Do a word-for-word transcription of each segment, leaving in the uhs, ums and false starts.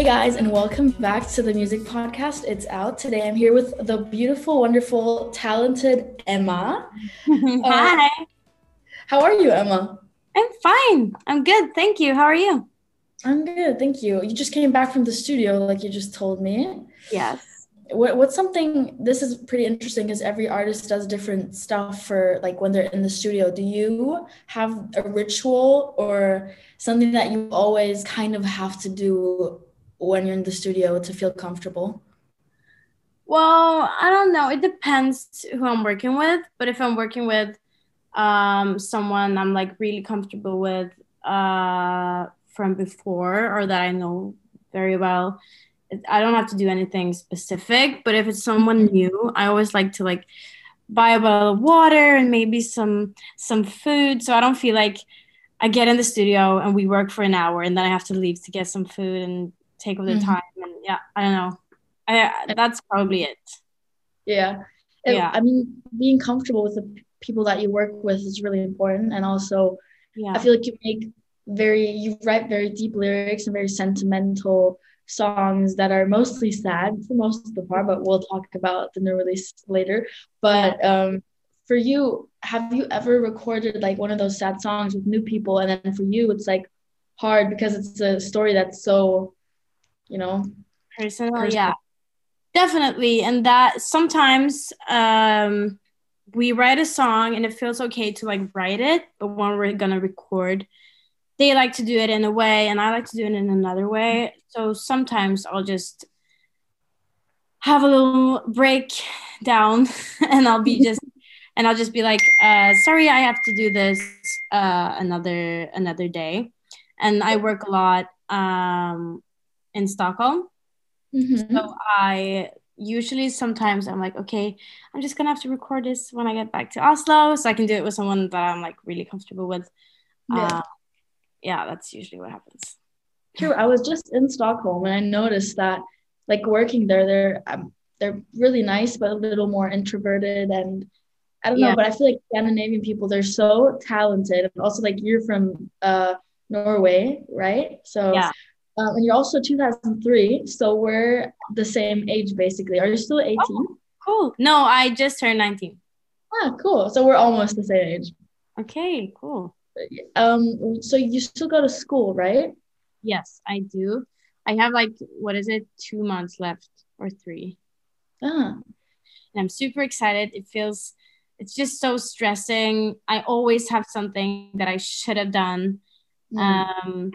Hey guys, and welcome back to the music podcast. It's out. Today I'm here with the beautiful, wonderful, talented Emma. Uh, Hi. how are you, Emma? I'm fine. I'm good. Thank you. How are you? I'm good, thank you. You just came back from the studio, like you just told me. Yes. What, what's something, this is pretty interesting because every artist does different stuff for like when they're in the studio. Do you have a ritual or something that you always kind of have to do when you're in the studio to feel comfortable? Well, I don't know. It depends who I'm working with. But if I'm working with um someone I'm like really comfortable with uh from before or that I know very well, it- I don't have to do anything specific. But if it's someone new, I always like to like buy a bottle of water and maybe some some food, so I don't feel like I get in the studio and we work for an hour and then I have to leave to get some food and take all the Mhm. time. And yeah, I don't know. I that's probably it. Yeah. It, Yeah. I mean, being comfortable with the p- people that you work with is really important. And also, I Yeah. feel like you make very, you write very deep lyrics and very sentimental songs that are mostly sad for most of the part, but we'll talk about the new release later. Yeah. But um, for you, have you ever recorded like one of those sad songs with new people? And then for you, it's like hard because it's a story that's so, you know, Personal, yeah. personal. Definitely. And that sometimes um we write a song and it feels okay to like write it, but when we're gonna record, they like to do it in a way and I like to do it in another way. So sometimes I'll just have a little break down and I'll be just and I'll just be like, uh, sorry, I have to do this uh, another another day. And I work a lot um, in Stockholm. So Mm-hmm. I usually sometimes I'm like, okay, I'm just gonna have to record this when I get back to Oslo so I can do it with someone that I'm like really comfortable with. Yeah. Uh, yeah, that's usually what happens. True. I was just in Stockholm and I noticed that like working there, they're um, they're really nice, but a little more introverted. And I don't know, Yeah, but I feel like Scandinavian people, they're so talented. And also like you're from uh Norway, right? So yeah. um, and you're also two thousand three, so we're the same age basically. Are you still eighteen? Oh, cool. No, I just turned nineteen. Ah, cool. So we're almost the same age. Okay, cool. Um, so you still go to school, right? Yes, I do. I have like, what is it, two months left or three. Ah. And I'm super excited. It feels, it's just so stressing. I always have something that I should have done. Mm. Um,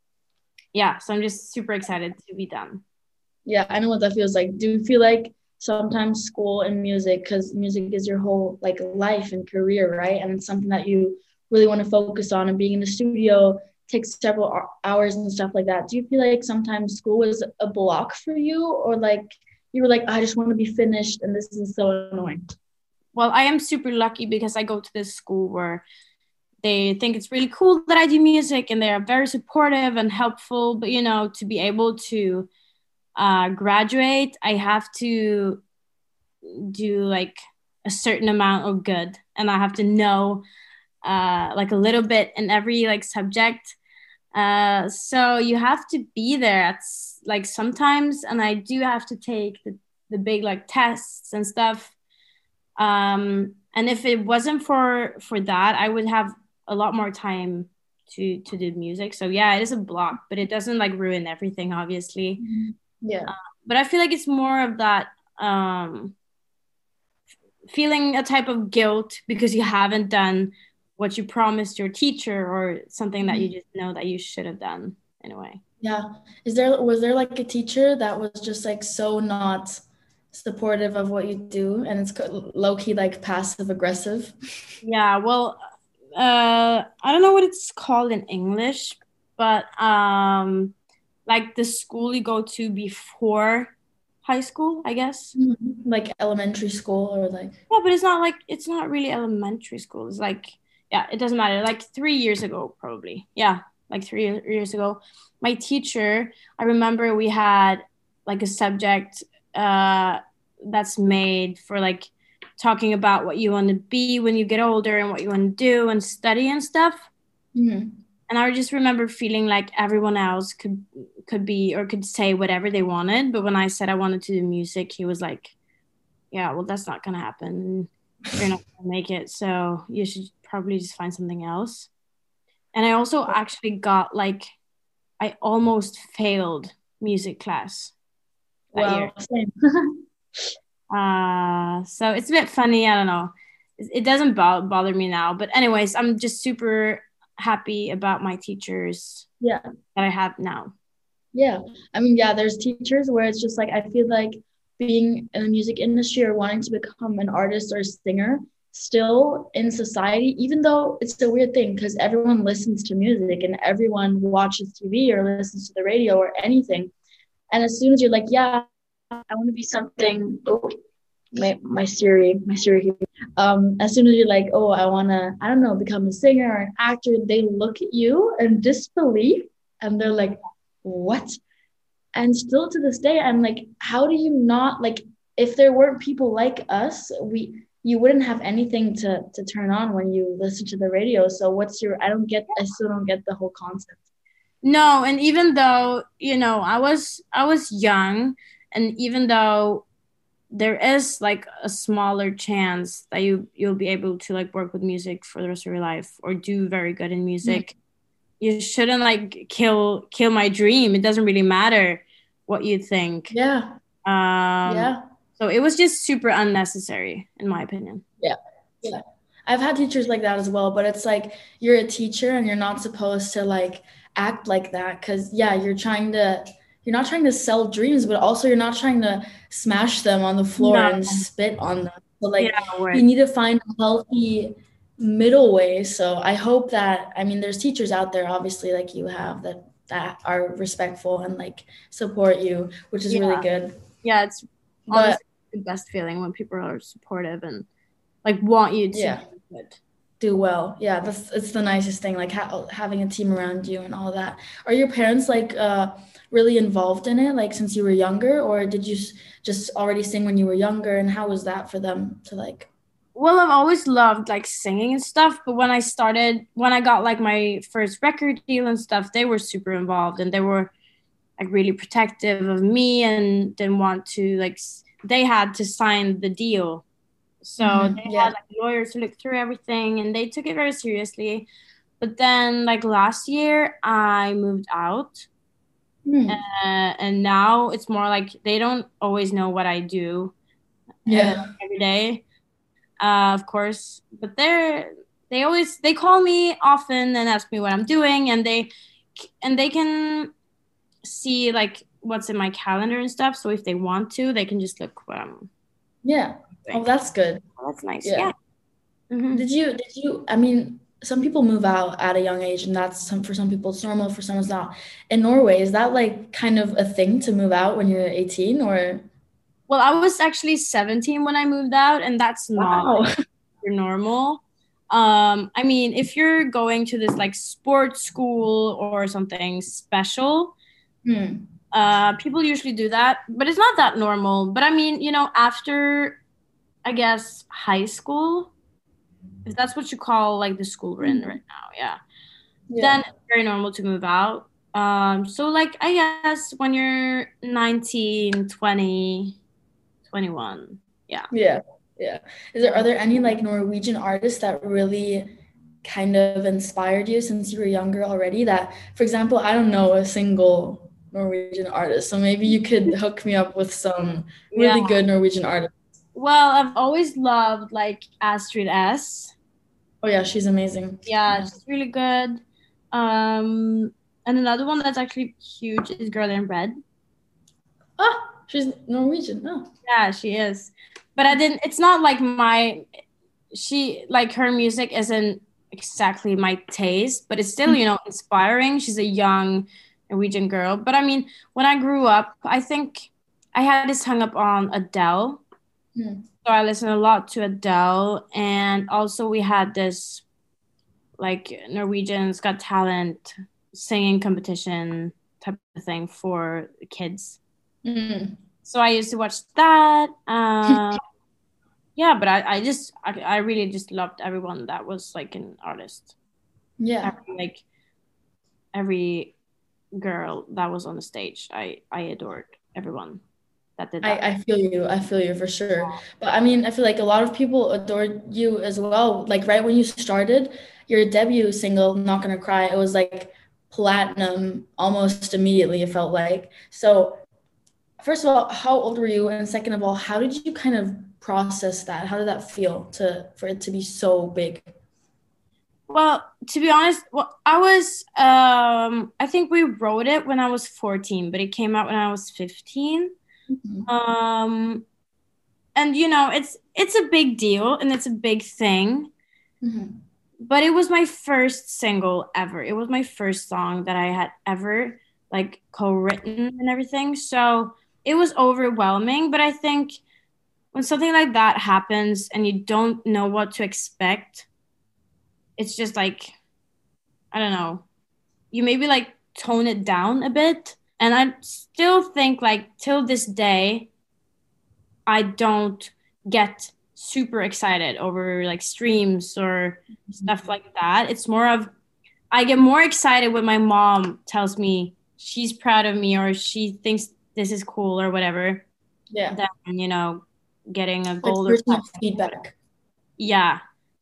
yeah, so I'm just super excited to be done. Yeah, I know what that feels like. Do you feel like sometimes school and music, because music is your whole like life and career, right? And it's something that you really want to focus on, and being in the studio takes several hou- hours and stuff like that. Do you feel like sometimes school was a block for you, or like you were like, I just want to be finished and this is so annoying? Well, I am super lucky because I go to this school where they think it's really cool that I do music and they are very supportive and helpful. But, you know, to be able to uh, graduate, I have to do like a certain amount of good and I have to know uh, like a little bit in every like subject. Uh, so you have to be there at like sometimes, and I do have to take the, the big like tests and stuff. Um, and if it wasn't for for that, I would have a lot more time to to do music. So yeah, it is a block, but it doesn't like ruin everything, obviously. Mhm. Yeah. But I feel like it's more of that um, feeling a type of guilt because you haven't done what you promised your teacher or something that you Mhm. just know that you should have done in a way. Yeah. Is there was there like a teacher that was just like so not supportive of what you do and it's low key like passive aggressive? Yeah, well, uh, I don't know what it's called in English, but um, like the school you go to before high school, I guess. Mhm. Like elementary school or like Yeah, but it's not like it's not really elementary school. It's like, yeah, it doesn't matter. Like three years ago, probably. Yeah, like three years ago, my teacher. I remember we had like a subject uh, that's made for like talking about what you want to be when you get older and what you want to do and study and stuff. Mhm. And I just remember feeling like everyone else could could be or could say whatever they wanted. But when I said I wanted to do music, he was like, yeah, well, that's not going to happen. You're not going to make it. So you should probably just find something else. And I also actually got like, I almost failed music class that Wow, year. same. Uh, so it's a bit funny. I don't know. It, it doesn't bo- bother me now. But anyways, I'm just super happy about my teachers Yeah. that I have now. Yeah. I mean, yeah, there's teachers where it's just like, I feel like being in the music industry or wanting to become an artist or a singer, still in society, even though it's a weird thing because everyone listens to music and everyone watches T V or listens to the radio or anything. And as soon as you're like, yeah, I want to be something, oh, my, my Siri, my Siri, um, as soon as you're like, oh, I want to, I don't know, become a singer or an actor, they look at you in disbelief and they're like, what? And still to this day, I'm like, how do you not, like, if there weren't people like us, we, you wouldn't have anything to, to turn on when you listen to the radio. So what's your, I don't get, I still don't get the whole concept. No, and even though, you know, I was I was young, and even though there is like a smaller chance that you you'll be able to like work with music for the rest of your life or do very good in music, mm-hmm. you shouldn't like kill kill my dream. It doesn't really matter what you think. Yeah. Um, yeah. So it was just super unnecessary, in my opinion. Yeah. Yeah. I've had teachers like that as well, but it's like you're a teacher and you're not supposed to like act like that because yeah, you're trying to you're not trying to sell dreams, but also you're not trying to smash them on the floor no. and spit on them. So like yeah, right. You need to find a healthy middle way. So I hope that I mean there's teachers out there obviously like you have that that are respectful and like support you, which is yeah. really good. Yeah, it's but the best feeling when people are supportive and like want you to yeah. do good. Do well. Yeah, that's it's the nicest thing, like ha- having a team around you and all that. Are your parents like uh really involved in it like since you were younger, or did you just already sing when you were younger, and how was that for them to like? Well, I've always loved like singing and stuff, but when I started when I got like my first record deal and stuff, they were super involved and they were like really protective of me and didn't want to like they had to sign the deal. So mm-hmm. they yeah. had like lawyers to look through everything and they took it very seriously. But then like last year I moved out mm. uh, and now it's more like they don't always know what I do yeah. uh, every day, uh, of course. But they're they always they call me often and ask me what I'm doing, and they and they can see like what's in my calendar and stuff. So if they want to, they can just look what I'm yeah. Oh, that's good. Oh, that's nice. Yeah. yeah. Mm-hmm. Did you, did you, I mean, some people move out at a young age and that's some, for some people it's normal, for some it's not. In Norway, is that like kind of a thing to move out when you're eighteen or? Well, I was actually seventeen when I moved out and that's not wow. like, normal. Um, I mean, if you're going to this like sports school or something special, hmm. uh, people usually do that, but it's not that normal. But I mean, you know, after I guess high school, if that's what you call like the school we're in right now, yeah. yeah. Then it's very normal to move out. Um, so like I guess when you're nineteen, twenty, twenty-one, yeah. Yeah, yeah. Is there are there any like Norwegian artists that really kind of inspired you since you were younger already? That, for example, I don't know a single Norwegian artist, so maybe you could hook me up with some really yeah. good Norwegian artists. Well, I've always loved like Astrid S. Oh yeah, she's amazing. Yeah, yeah. She's really good. Um, and another one that's actually huge is Girl in Red. Ah, she's Norwegian. Oh. Yeah, she is. But I didn't. It's not like my. She like her music isn't exactly my taste, but it's still you know inspiring. She's a young Norwegian girl. But I mean, when I grew up, I think I had this hung up on Adele. Hmm. So I listened a lot to Adele, and also we had this like Norwegian's Got Talent singing competition type of thing for kids. Mm. So I used to watch that. Uh, yeah, but I, I just I, I really just loved everyone that was like an artist. Yeah, every, like every girl that was on the stage. I I adored everyone that did I, that. I feel you. I feel you for sure. But I mean, I feel like a lot of people adored you as well. Like right when you started your debut single, Not Gonna Cry, it was like platinum almost immediately, it felt like. So first of all, how old were you? And second of all, how did you kind of process that? How did that feel to for it to be so big? Well, to be honest, well, I was um I think we wrote it when I was fourteen, but it came out when I was fifteen. Mhm. Um and you know, it's it's a big deal and it's a big thing, Mhm. but it was my first single ever. It was my first song that I had ever like co-written and everything. So it was overwhelming, but I think when something like that happens and you don't know what to expect, it's just like, I don't know, you maybe like tone it down a bit. And I still think like till this day, I don't get super excited over like streams or stuff like that. It's more of I get more excited when my mom tells me she's proud of me or she thinks this is cool or whatever Yeah. than, you know, getting a Like gold or personal platinum. feedback. Yeah.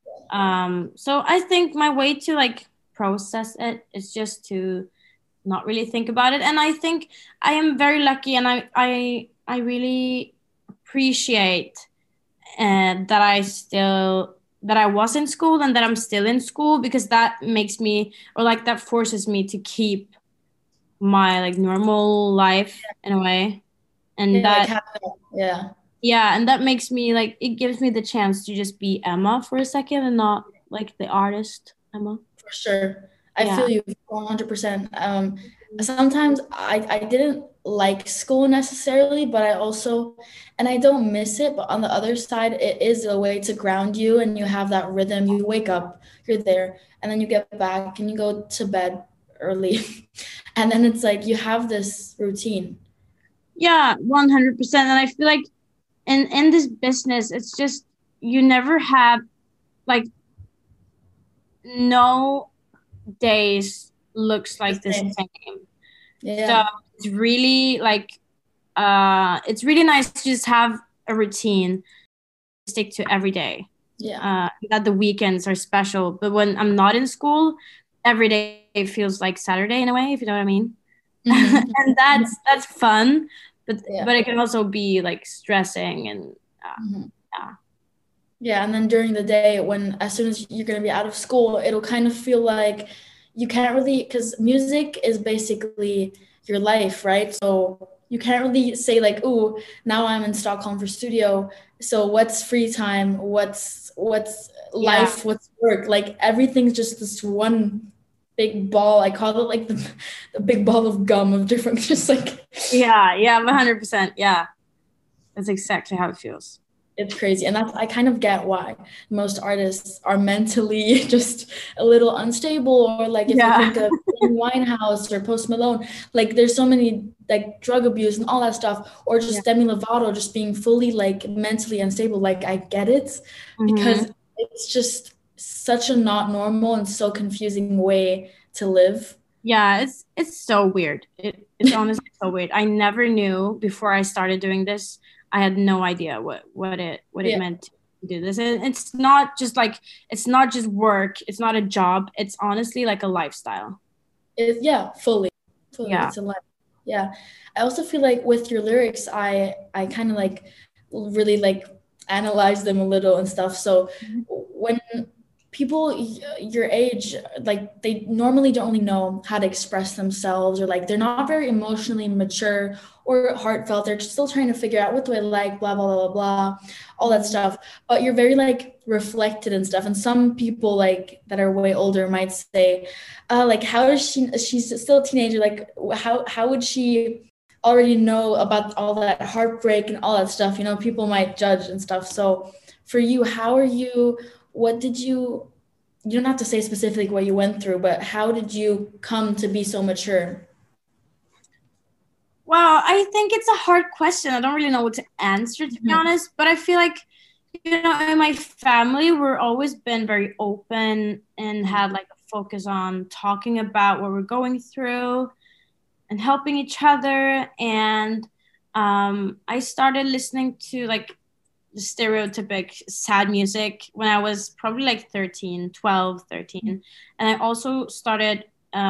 Um, so I think my way to like process it is just to not really think about it. And I think I am very lucky and I I I really appreciate uh, that I still that I was in school and that I'm still in school because that makes me or like that forces me to keep my like normal life in a way. And Yeah, like that have that. Yeah. yeah, and that makes me like it gives me the chance to just be Emma for a second and not like the artist Emma. For sure. I Yeah. feel you one hundred percent. Um, sometimes I, I didn't like school necessarily, but I also, and I don't miss it, but on the other side, it is a way to ground you and you have that rhythm. You wake up, you're there, and then you get back and you go to bed early. And then it's like you have this routine. Yeah, one hundred percent. And I feel like in in this business, it's just you never have like no days looks The like the same. same. So Yeah. it's really like uh it's really nice to just have a routine, stick to every day. Yeah. Uh that the weekends are special. But when I'm not in school, every day feels like Saturday in a way, if you know what I mean. Hmm. And that's that's fun, but Yeah. but it can also be like stressing and uh, Mhm. yeah. Yeah, and then during the day, when as soon as you're going to be out of school, it'll kind of feel like you can't really, because music is basically your life, right? So you can't really say like, "Ooh, now I'm in Stockholm for studio. So what's free time? What's what's Yeah. life? What's work?" Like everything's just this one big ball. I call it like the, the big ball of gum of different, just like Yeah, yeah, one hundred percent. Yeah. That's exactly how it feels. it's crazy. And that's, I kind of get why most artists are mentally just a little unstable. Or like if you Yeah. think of Amy Winehouse or Post Malone, like there's so many like drug abuse and all that stuff, or Yeah. just Demi Lovato just being fully like mentally unstable. Like I get it Mm-hmm. because it's just such a not normal and so confusing way to live. Yeah, it's it's so weird. It it's honestly so weird. I never knew before I started doing this. I had no idea what what it what it Yeah. meant to do this. And it's not just like it's not just work. It's not a job. It's honestly like a lifestyle. It, yeah, fully. Fully. Yeah. It's a lot. Yeah. I also feel like with your lyrics, I I kind of like really like analyze them a little and stuff. So when people y- your age, like they normally don't really know how to express themselves, or like they're not very emotionally mature or heartfelt. They're still trying to figure out what do I like, blah, blah, blah, blah, blah, all that stuff. But you're very like reflected and stuff. And some people like that are way older might say, uh, like, how is she, she's still a teenager. Like how, how would she already know about all that heartbreak and all that stuff? You know, people might judge and stuff. So for you, how are you, what did you, you don't have to say specifically what you went through, but how did you come to be so mature? Well, I think it's a hard question. I don't really know what to answer, to be Mhm. honest. But I feel like, you know, in my family, we're always been very open and had like a focus on talking about what we're going through. and helping each other. And um, I started listening to like the stereotypic sad music when I was probably like thirteen, twelve, thirteen. And I also started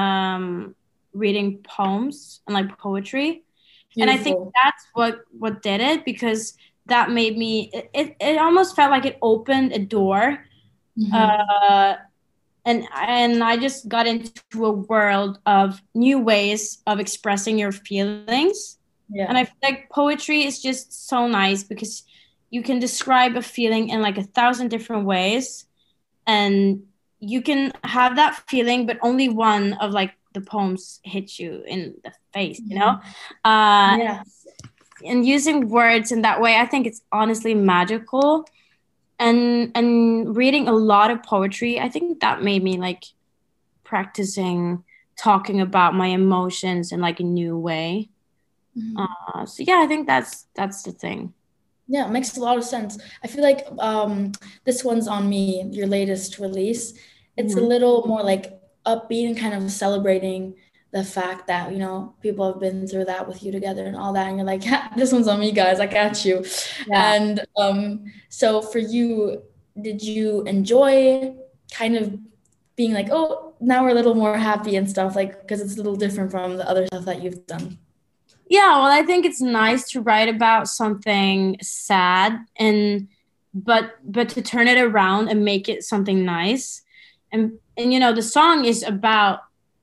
um, reading poems and like poetry. Beautiful. And I think that's what, what did it, because that made me, it, it, it almost felt like it opened a door. Mm-hmm. Uh, and, and I just got into a world of new ways of expressing your feelings. Yeah. And I feel like poetry is just so nice because you can describe a feeling in like a thousand different ways, and you can have that feeling, but only one of like the poems hit you in the face, you know? Uh, yeah. And using words in that way, I think it's honestly magical. And and reading a lot of poetry, I think that made me like practicing talking about my emotions in like a new way. Mm-hmm. Uh, so yeah, I think that's that's the thing. Yeah, it makes a lot of sense. I feel like um, this one's on me, your latest release. It's mm-hmm. a little more like upbeat and kind of celebrating the fact that, you know, people have been through that with you together and all that. And you're like, yeah, this one's on me, guys. I got you. Yeah. And um, so for you, did you enjoy kind of being like, oh, now we're a little more happy and stuff, like, because it's a little different from the other stuff that you've done? Yeah, well, I think it's nice to write about something sad and but but to turn it around and make it something nice. And and you know, the song is about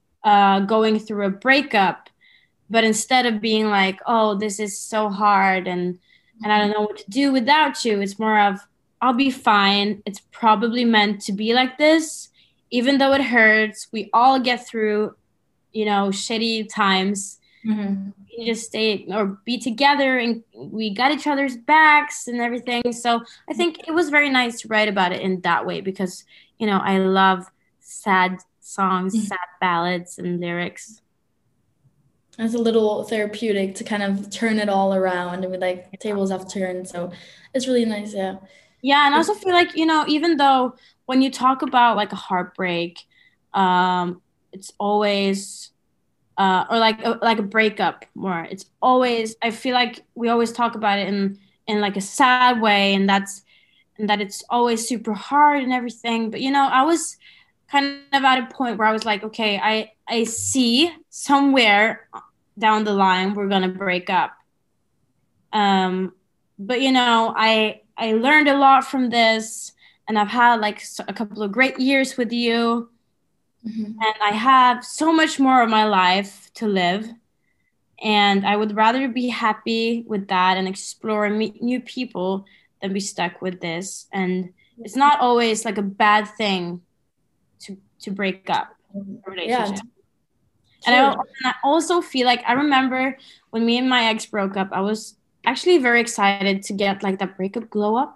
uh, going through a breakup, but instead of being like, oh, this is so hard and and I don't know what to do without you, it's more of, I'll be fine. It's probably meant to be like this, even though it hurts. We all get through, you know, shitty times. Mm-hmm. We just stay or be together, and we got each other's backs and everything. So I think it was very nice to write about it in that way because, you know, I love sad songs, mm-hmm. sad ballads and lyrics. It's a little therapeutic to kind of turn it all around and be like, tables have turned. So it's really nice. Yeah. Yeah. And I also feel like, you know, even though when you talk about like a heartbreak, um, it's always Uh, or like a, like a breakup more. It's always, I feel like we always talk about it in, in like a sad way, and that's, and that it's always super hard and everything. But, you know, I was kind of at a point where I was like, okay, I, I see somewhere down the line, we're going to break up. Um, but, you know, I, I learned a lot from this, and I've had like a couple of great years with you. Mm-hmm. And I have so much more of my life to live, and I would rather be happy with that and explore and meet new people than be stuck with this. And it's not always like a bad thing to to break up a relationship. Yeah. And I, and I also feel like I remember when me and my ex broke up, I was actually very excited to get like that breakup glow up.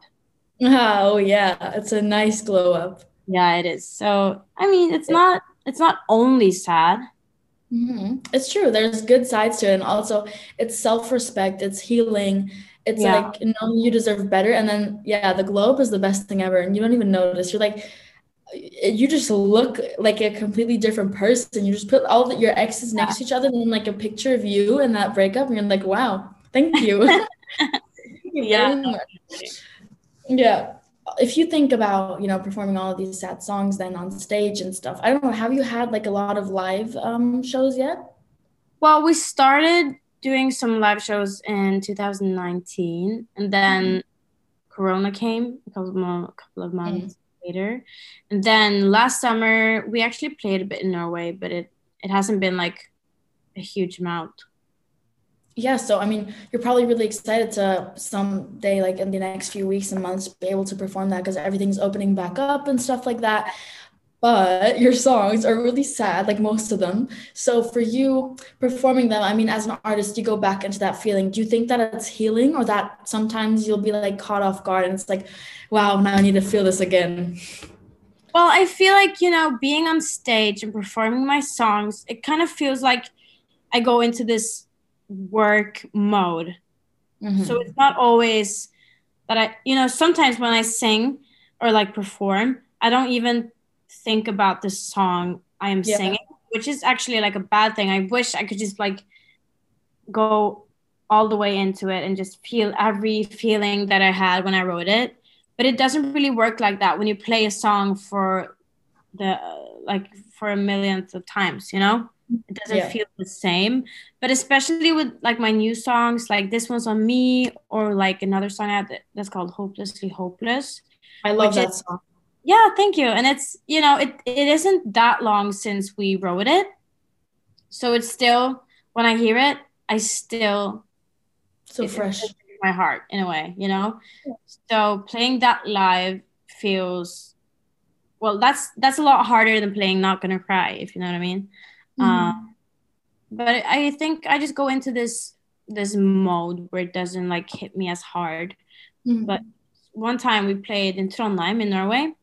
Oh yeah, it's a nice glow up. Yeah, it is. So, I mean, it's not it's not only sad. Mm-hmm. It's true. There's good sides to it. And also, it's self-respect. It's healing. It's yeah. like, you know, you deserve better. And then, yeah, the glow up is the best thing ever. And you don't even notice. You're like, you just look like a completely different person. You just put all the, your exes next yeah. to each other and then like a picture of you and that breakup. And you're like, wow, thank you. Thank you yeah. very much. Yeah. If you think about, you know, performing all of these sad songs then on stage and stuff, I don't know, have you had like a lot of live um, shows yet? Well, we started doing some live shows in two thousand nineteen, and then mm-hmm. Corona came a couple of, mo- a couple of months mm-hmm. later. And then last summer, we actually played a bit in Norway, but it, it hasn't been like a huge amount. Yeah, so I mean, you're probably really excited to someday, like in the next few weeks and months, be able to perform that because everything's opening back up and stuff like that. But your songs are really sad, like most of them. So for you performing them, I mean, as an artist, you go back into that feeling. Do you think that it's healing, or that sometimes you'll be like caught off guard and it's like, wow, now I need to feel this again? Well, I feel like, you know, being on stage and performing my songs, it kind of feels like I go into this work mode. Mm-hmm. So it's not always that I, you know, sometimes when I sing or like perform, I don't even think about the song I am yeah. singing, which is actually like a bad thing. I wish I could just like go all the way into it and just feel every feeling that I had when I wrote it. But it doesn't really work like that when you play a song for the uh, like for a millionth of times, you know? It doesn't Yeah. feel the same. But especially with like my new songs, like this one's on me, or like another song I had that's called Hopelessly Hopeless. I love that is, song. Yeah, thank you. And it's, you know, it it isn't that long since we wrote it. So it's still, when I hear it, I still So it, fresh. It my heart in a way, you know? Yeah. So playing that live feels, well, that's that's a lot harder than playing Not Gonna Cry, if you know what I mean. Mm-hmm. Um, but I think I just go into this this mode where it doesn't like hit me as hard. Mm-hmm. But one time we played in Trondheim in Norway,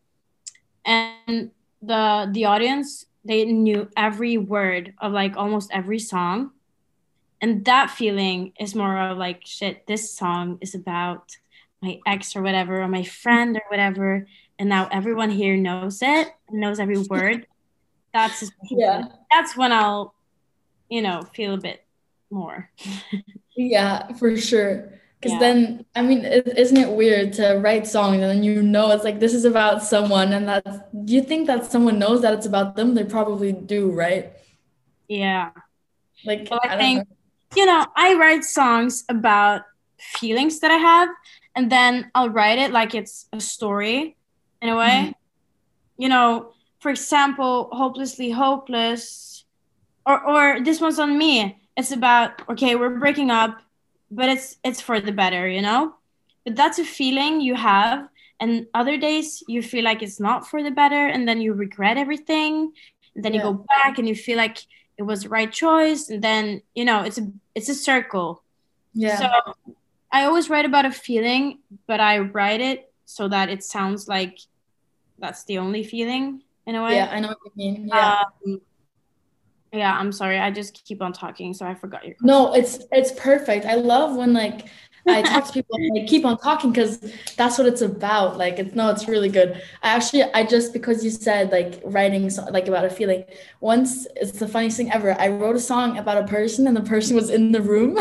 and the the audience, they knew every word of like almost every song. And that feeling is more of like, shit, this song is about my ex or whatever, or my friend or whatever. And now everyone here knows it and knows every word. That's a special yeah. feeling. That's when I'll, you know, feel a bit more. Yeah, for sure. Because yeah. then, I mean, isn't it weird to write songs and then you know it's like, this is about someone, and that's, do you think that someone knows that it's about them? They probably do, right? Yeah. Like, well, I, I think, don't know. You know, I write songs about feelings that I have, and then I'll write it like it's a story in a way. Mm-hmm. You know, for example, Hopelessly Hopeless, or or this one's on me. It's about, okay, we're breaking up, but it's it's for the better, you know? But that's a feeling you have, and other days you feel like it's not for the better, and then you regret everything, and then yeah. you go back and you feel like it was the right choice, and then, you know, it's a it's a circle. Yeah. So I always write about a feeling, but I write it so that it sounds like that's the only feeling in a way. Yeah, I know what you mean. Yeah. Um, yeah, I'm sorry. I just keep on talking, so I forgot your question. No, it's it's perfect. I love when like I talk to people and like keep on talking, because that's what it's about. Like, it's no, it's really good. I actually, I just, because you said like writing so, like about a feeling. Once, it's the funniest thing ever. I wrote a song about a person, and the person was in the room.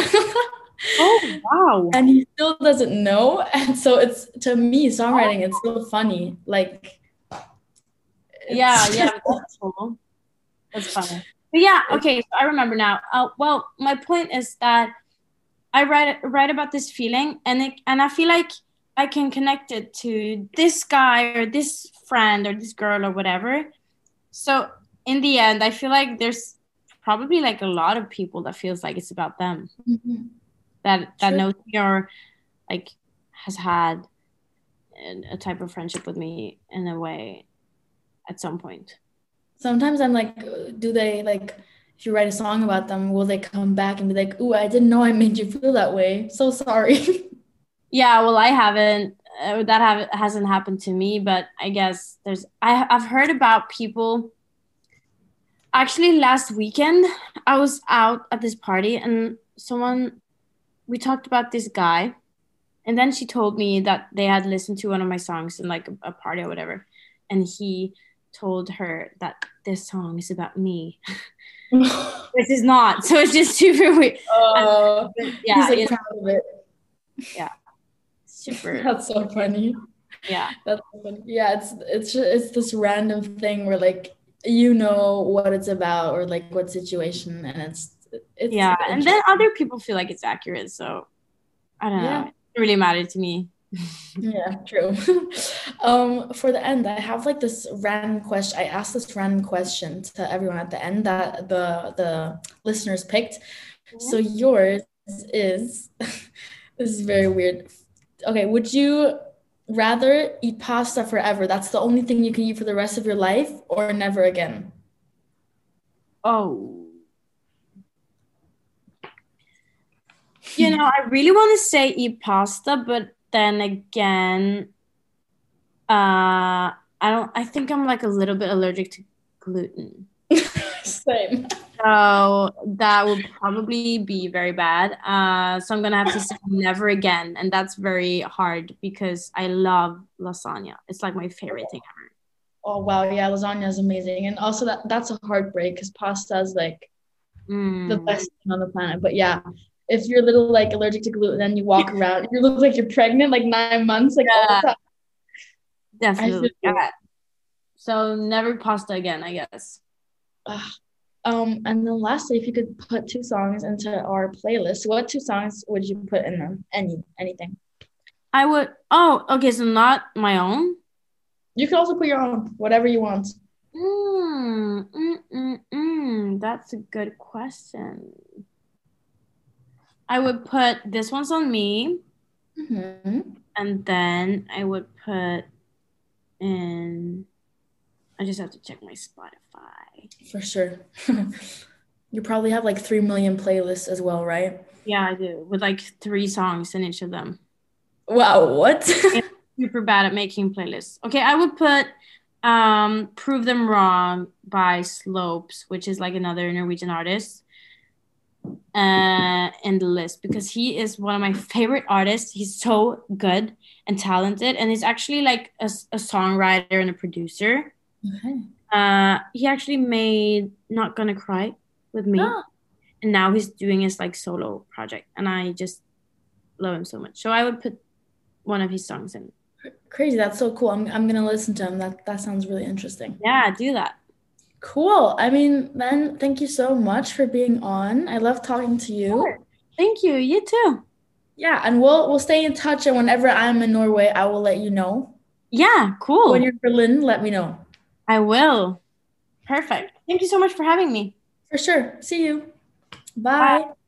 Oh wow! And he still doesn't know. And so it's, to me, songwriting, it's so funny. Like, yeah, yeah, that's cool. That's funny. But yeah, okay, so I remember now. Uh, well, my point is that I write write about this feeling, and it, and I feel like I can connect it to this guy or this friend or this girl or whatever. So in the end, I feel like there's probably like a lot of people that feels like it's about them. Mm-hmm. That that True. knows me, or like has had a type of friendship with me in a way at some point. Sometimes I'm like, do they like, if you write a song about them, will they come back and be like, ooh, I didn't know I made you feel that way. So sorry. Yeah, well, I haven't, uh, that have, hasn't happened to me, but I guess there's, I, I've heard about people. Actually, last weekend, I was out at this party, and someone, we talked about this guy, and then she told me that they had listened to one of my songs in like a, a party or whatever, and he told her that this song is about me. Which is not, so it's just super weird. Uh, yeah, he's like proud of it. Yeah, super. That's so funny. Yeah, that's so funny. Yeah, it's it's just, it's this random thing where like, you know what it's about, or like what situation, and it's it's yeah, and then other people feel like it's accurate. So I don't yeah. know. It really mattered to me. Yeah, true. um, for the end, I have like this random question. I asked this random question to everyone at the end that the the listeners picked. Mm-hmm. So yours is this is very weird. Okay, would you rather eat pasta forever? That's the only thing you can eat for the rest of your life, or never again? Oh. You know, I really want to say eat pasta, but then again, uh, I don't, I think I'm like a little bit allergic to gluten. Same. So that would probably be very bad. Uh, so I'm going to have to say never again. And that's very hard because I love lasagna. It's like my favorite thing ever. Oh wow, yeah, lasagna is amazing, and also that that's a heartbreak because pasta is like the Mm. best thing on the planet. But yeah, if you're a little like allergic to gluten, then you walk around, you look like you're pregnant, like nine months, like all Yeah, the time. I feel definitely. you. Yeah. So never pasta again, I guess. Ah, Um, and then lastly, if you could put two songs into our playlist, what two songs would you put in them? Any, anything. I would. Oh, okay. So not my own. You could also put your own, whatever you want. Mm, mm, mm, mm. That's a good question. I would put This One's on Me, Mm-hmm. and then I would put in. I just have to check my Spotify. For sure. You probably have like three million playlists as well, right? Yeah, I do, with like three songs in each of them. Wow, what? I'm super bad at making playlists. Okay, I would put um Prove Them Wrong by Slopes, which is like another Norwegian artist, uh in the list because he is one of my favorite artists. He's so good and talented, and he's actually like a, a songwriter and a producer. Okay. Uh he actually made Not Gonna Cry with me, Oh, and now he's doing his like solo project, and I just love him so much. So I would put one of his songs in. crazy. That's so cool. I'm I'm gonna listen to him. That that sounds really interesting. Yeah, do that. Cool. I mean, then thank you so much for being on. I love talking to you. Sure. Thank you. You too. Yeah, and we'll we'll stay in touch, and whenever I'm in Norway, I will let you know. Yeah, When cool. you're in Berlin, let me know. I will. Perfect. Thank you so much for having me. For sure. See you. Bye. Bye.